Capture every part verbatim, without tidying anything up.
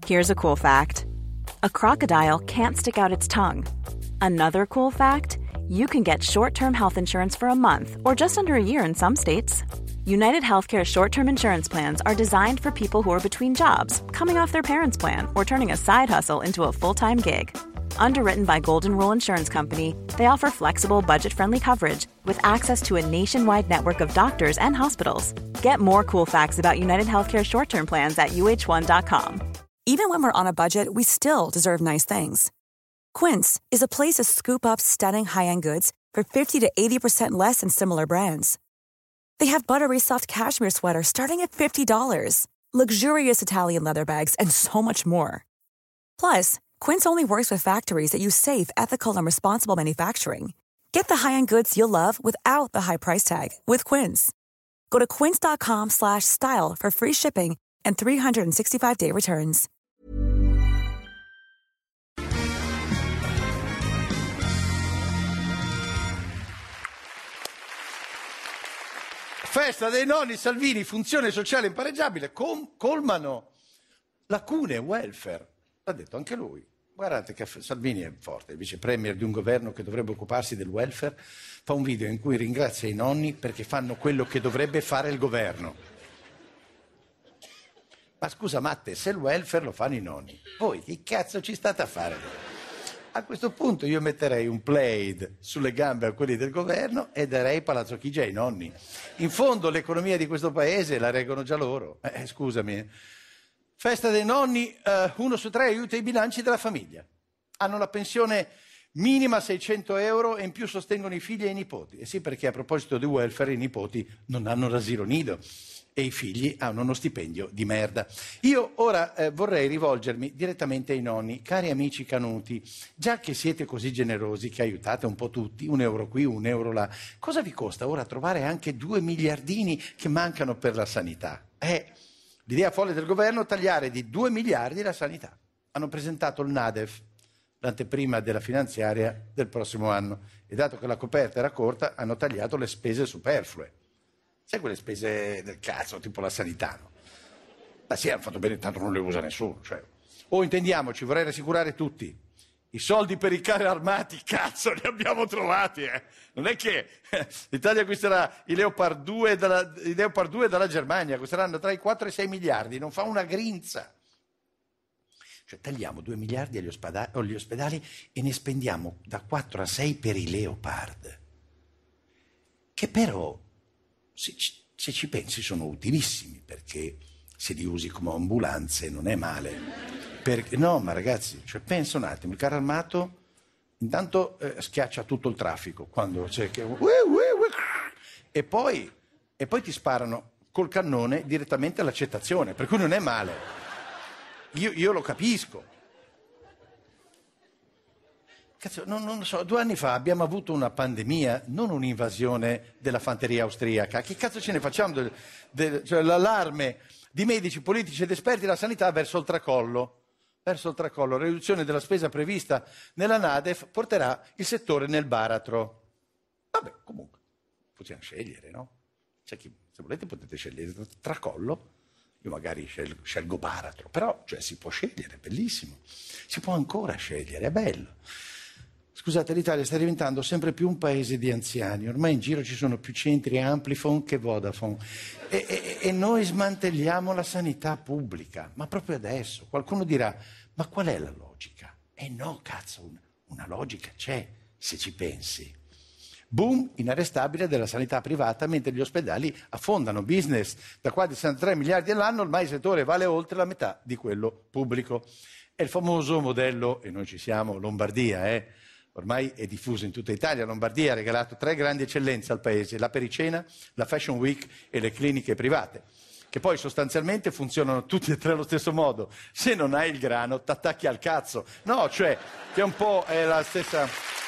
Here's a cool fact. A crocodile can't stick out its tongue. Another cool fact, you can get short-term health insurance for a month or just under a year in some states. United Healthcare short-term insurance plans are designed for people who are between jobs, coming off their parents' plan, or turning a side hustle into a full-time gig. Underwritten by Golden Rule Insurance Company, they offer flexible, budget-friendly coverage with access to a nationwide network of doctors and hospitals. Get more cool facts about United Healthcare short-term plans at U H one dot com. Even when we're on a budget, we still deserve nice things. Quince is a place to scoop up stunning high-end goods for fifty to eighty percent less than similar brands. They have buttery soft cashmere sweaters starting at fifty dollars, luxurious Italian leather bags, and so much more. Plus, Quince only works with factories that use safe, ethical, and responsible manufacturing. Get the high-end goods you'll love without the high price tag with Quince. Go to quince.com slash style for free shipping and three sixty-five day returns. Festa dei nonni, Salvini, funzione sociale impareggiabile, com- colmano lacune welfare. L'ha detto anche lui. Guardate che Salvini è forte, il vice premier di un governo che dovrebbe occuparsi del welfare, fa un video in cui ringrazia i nonni perché fanno quello che dovrebbe fare il governo. Ma scusa Matte, se il welfare lo fanno i nonni, voi che cazzo ci state a fare? A questo punto io metterei un plaid sulle gambe a quelli del governo e darei Palazzo Chigi ai nonni. In fondo l'economia di questo paese la reggono già loro. Eh, scusami. Festa dei nonni, eh, uno su tre aiuta i bilanci della famiglia. Hanno la pensione minima seicento euro e in più sostengono i figli e i nipoti. E sì, perché a proposito di welfare i nipoti non hanno l'asilo nido e i figli hanno uno stipendio di merda. Io ora eh, vorrei rivolgermi direttamente ai nonni. Cari amici canuti, già che siete così generosi che aiutate un po' tutti, un euro qui, un euro là, cosa vi costa ora trovare anche due miliardini che mancano per la sanità? Eh, l'idea folle del governo è tagliare di due miliardi la sanità. Hanno presentato il NADEF, l'anteprima della finanziaria del prossimo anno, e dato che la coperta era corta hanno tagliato le spese superflue. Sai quelle spese del cazzo, tipo la sanità, no? Ma sì, hanno fatto bene, tanto non le usa nessuno. Cioè. O intendiamoci, vorrei rassicurare tutti, i soldi per i carri armati, cazzo, li abbiamo trovati, eh! Non è che eh, l'Italia acquisterà i Leopard due, dalla, i Leopard due dalla Germania, costeranno tra i quattro e i sei miliardi, non fa una grinza. Cioè tagliamo due miliardi agli ospedali, agli ospedali e ne spendiamo da quattro a sei per i Leopard, che però, se ci, se ci pensi, sono utilissimi, perché se li usi come ambulanze non è male. Perché, no, ma ragazzi, cioè, pensa un attimo, il carro armato intanto eh, schiaccia tutto il traffico, quando c'è che... E poi, e poi ti sparano col cannone direttamente all'accettazione, per cui non è male. Io, io lo capisco. Cazzo, non, non so, due anni fa abbiamo avuto una pandemia, non un'invasione della fanteria austriaca. Che cazzo ce ne facciamo? Del, del, cioè, l'allarme di medici, politici ed esperti della sanità verso il tracollo. Verso il tracollo. La riduzione della spesa prevista nella NADEF porterà il settore nel baratro. Vabbè, comunque, possiamo scegliere, no? C'è chi, se volete potete scegliere tracollo. Io magari scelgo, scelgo baratro, però cioè, si può scegliere, è bellissimo. Si può ancora scegliere, è bello. Scusate, l'Italia sta diventando sempre più un paese di anziani. Ormai in giro ci sono più centri Amplifon che Vodafone. E, e, e noi smantelliamo la sanità pubblica. Ma proprio adesso. Qualcuno dirà, ma qual è la logica? Eh no, cazzo, una, una logica c'è, se ci pensi. Boom inarrestabile della sanità privata, mentre gli ospedali affondano business da quasi sessantatré miliardi all'anno, ormai il settore vale oltre la metà di quello pubblico. È il famoso modello, e noi ci siamo, Lombardia, eh? Ormai è diffuso in tutta Italia. Lombardia ha regalato tre grandi eccellenze al paese, la pericena, la Fashion Week e le cliniche private, che poi sostanzialmente funzionano tutti e tre allo stesso modo. Se non hai il grano, t'attacchi al cazzo. No, cioè, che un po' è la stessa...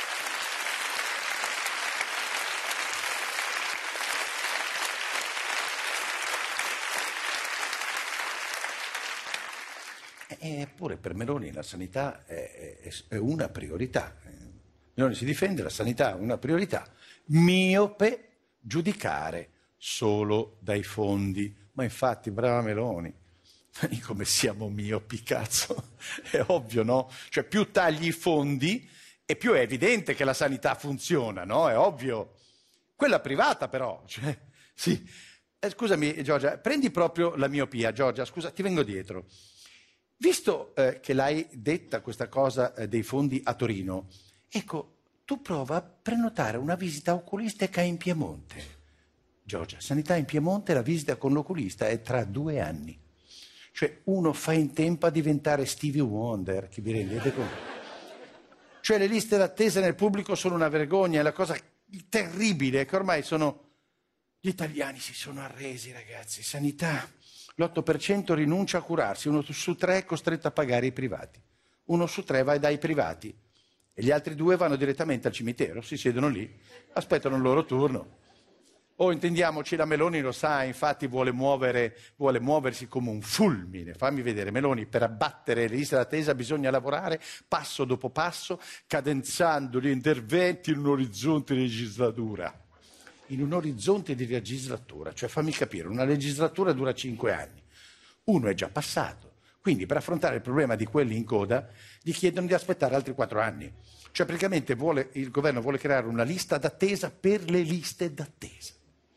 Eppure per Meloni la sanità è, è, è una priorità. Meloni si difende, la sanità è una priorità. Miope giudicare solo dai fondi. Ma infatti, brava Meloni, Come siamo miopi, cazzo. È ovvio, no? Cioè, più tagli i fondi e più è evidente che la sanità funziona, no? È ovvio. Quella privata, però, cioè, sì. Eh, scusami, Giorgia, prendi proprio la miopia. Giorgia, scusa, ti vengo dietro. Visto eh, che l'hai detta questa cosa eh, dei fondi a Torino, ecco, tu prova a prenotare una visita oculistica in Piemonte. Giorgia, sanità in Piemonte, la visita con l'oculista è tra due anni. Cioè, uno fa in tempo a diventare Stevie Wonder, che vi rendete conto? Cioè, le liste d'attesa nel pubblico sono una vergogna, è la cosa terribile che ormai sono... Gli italiani si sono arresi, ragazzi. Sanità, l'otto per cento rinuncia a curarsi, uno su tre è costretto a pagare i privati. Uno su tre va dai privati e gli altri due vanno direttamente al cimitero, si siedono lì, aspettano il loro turno. O intendiamoci, la Meloni lo sa, infatti vuole, muovere, vuole muoversi come un fulmine. Fammi vedere, Meloni, per abbattere le liste d'attesa bisogna lavorare passo dopo passo, cadenzando gli interventi in un orizzonte di legislatura. In un orizzonte di legislatura, cioè fammi capire, una legislatura dura cinque anni. Uno è già passato, quindi per affrontare il problema di quelli in coda gli chiedono di aspettare altri quattro anni. Cioè praticamente vuole, il governo vuole creare una lista d'attesa per le liste d'attesa.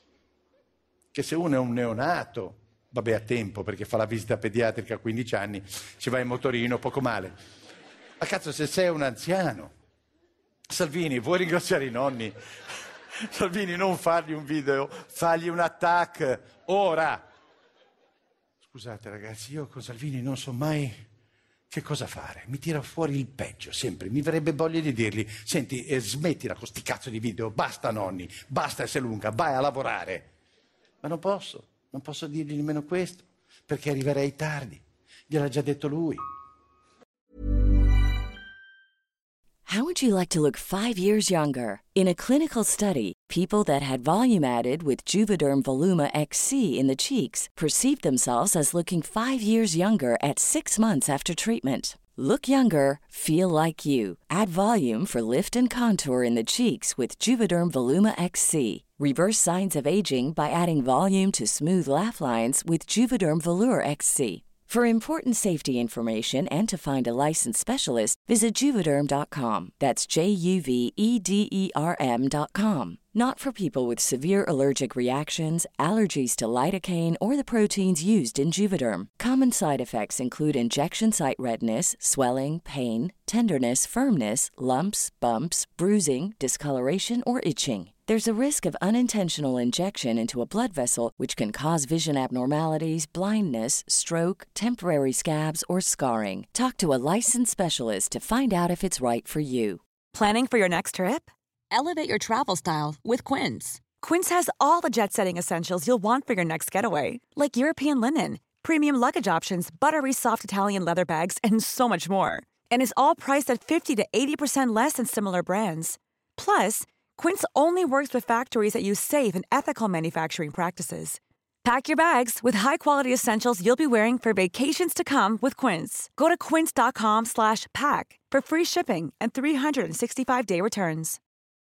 Che se uno è un neonato, vabbè, a tempo perché fa la visita pediatrica a quindici anni, ci va in motorino, poco male. Ma cazzo, se sei un anziano, Salvini, vuoi ringraziare i nonni? Salvini, non fargli un video, fagli un attack, ora. Scusate ragazzi, io con Salvini non so mai che cosa fare, mi tira fuori il peggio, sempre, mi verrebbe voglia di dirgli, senti, eh, smettila con sti cazzo di video, basta nonni, basta essere lunga, vai a lavorare. Ma non posso, non posso dirgli nemmeno questo, perché arriverei tardi. Gliel'ha già detto lui. How would you like to look five years younger? In a clinical study, people that had volume added with Juvederm Voluma X C in the cheeks perceived themselves as looking five years younger at six months after treatment. Look younger, feel like you. Add volume for lift and contour in the cheeks with Juvederm Voluma X C. Reverse signs of aging by adding volume to smooth laugh lines with Juvederm Volure X C. For important safety information and to find a licensed specialist, visit Juvederm dot com. That's J U V E D E R M dot com. Not for people with severe allergic reactions, allergies to lidocaine, or the proteins used in Juvederm. Common side effects include injection site redness, swelling, pain, tenderness, firmness, lumps, bumps, bruising, discoloration, or itching. There's a risk of unintentional injection into a blood vessel, which can cause vision abnormalities, blindness, stroke, temporary scabs, or scarring. Talk to a licensed specialist to find out if it's right for you. Planning for your next trip? Elevate your travel style with Quince. Quince has all the jet-setting essentials you'll want for your next getaway, like European linen, premium luggage options, buttery soft Italian leather bags, and so much more. And is all priced at fifty to eighty percent less than similar brands. Plus, Quince only works with factories that use safe and ethical manufacturing practices. Pack your bags with high-quality essentials you'll be wearing for vacations to come with Quince. Go to quince dot com slash pack for free shipping and three sixty-five day returns.